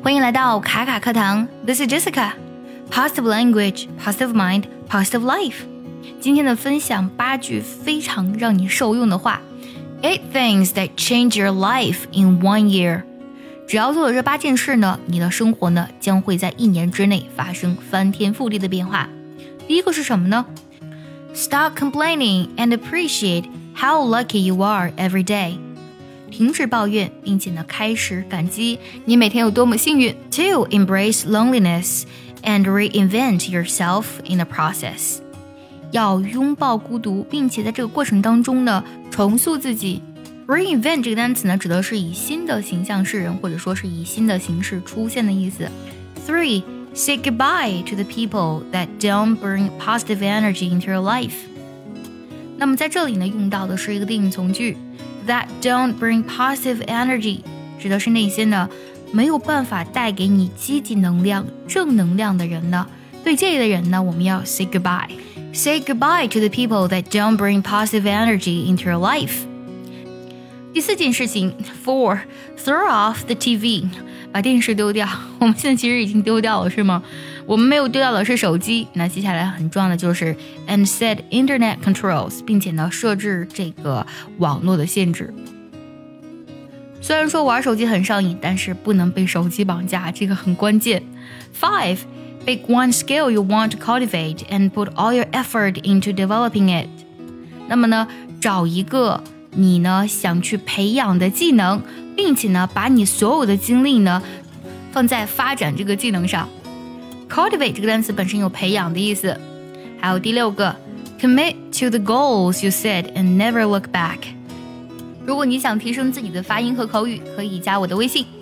欢迎来到卡卡课堂 This is Jessica Positive language, positive mind, positive life 今天的分享8句非常让你受用的话 8 things that change your life in 1 year 只要做了这8件事呢，你的生活呢将会在1年之内发生翻天覆地的变化。第一个是什么呢？ Stop complaining and appreciate how lucky you are every day停止抱怨，并且呢，开始感激你每天有多么幸运。2. Embrace loneliness and reinvent yourself in the process. 要拥抱孤独，并且在这个过程当中呢，重塑自己。Reinvent 这个单词呢，指的是以新的形象示人，或者说是以新的形式出现的意思。3. Say goodbye to the people that don't bring positive energy into your life. 那么在这里呢，用到的是一个定语从句。That don't bring positive energy 指的是那些呢没有办法带给你积极能量、正能量的人呢。对这类的人呢，我们要 say goodbye. Say goodbye to the people that don't bring positive energy into your life. 第4件事情 4. Throw off the TV. 把电视丢掉。我们现在其实已经丢掉了，是吗？我们没有丢掉的是手机。那接下来很重要的就是 and set internet controls， 并且呢设置这个网络的限制。虽然说玩手机很上瘾，但是不能被手机绑架，这个很关键。5. Pick one skill you want to cultivate and put all your effort into developing it. 那么呢，找一个你呢想去培养的技能，并且呢把你所有的精力呢放在发展这个技能上。Cultivate 这个单词本身有培养的意思。还有第6个 Commit to the goals you set and never look back. 如果你想提升自己的发音和口语，可以加我的微信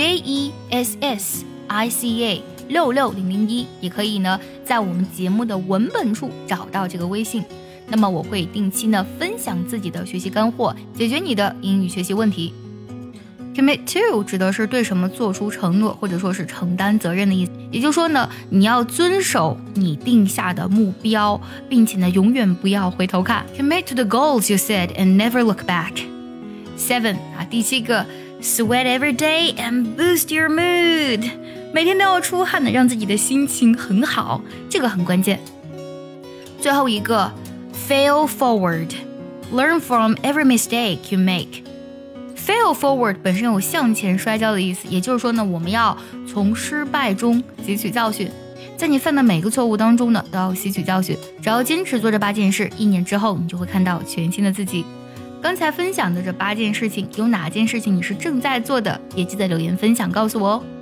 JESSICA66001，也可以呢在我们节目的文本处找到这个微信。那么我会定期呢分享自己的学习干货，解决你的英语学习问题。Commit to 指的是对什么做出承诺，或者说是承担责任的意思。也就是说呢，你要遵守你定下的目标，并且呢永远不要回头看。Commit to the goals you set and never look back. 7. 第7个 Sweat every day and boost your mood. 每天都要出汗的，让自己的心情很好，这个很关键。最后一个 Fail forward. Learn from every mistake you make.Fail forward 本身有向前摔跤的意思，也就是说呢，我们要从失败中汲取教训，在你犯的每个错误当中呢，都要吸取教训。只要坚持做这8件事，1年之后你就会看到全新的自己。刚才分享的这8件事情，有哪件事情你是正在做的？也记得留言分享告诉我哦。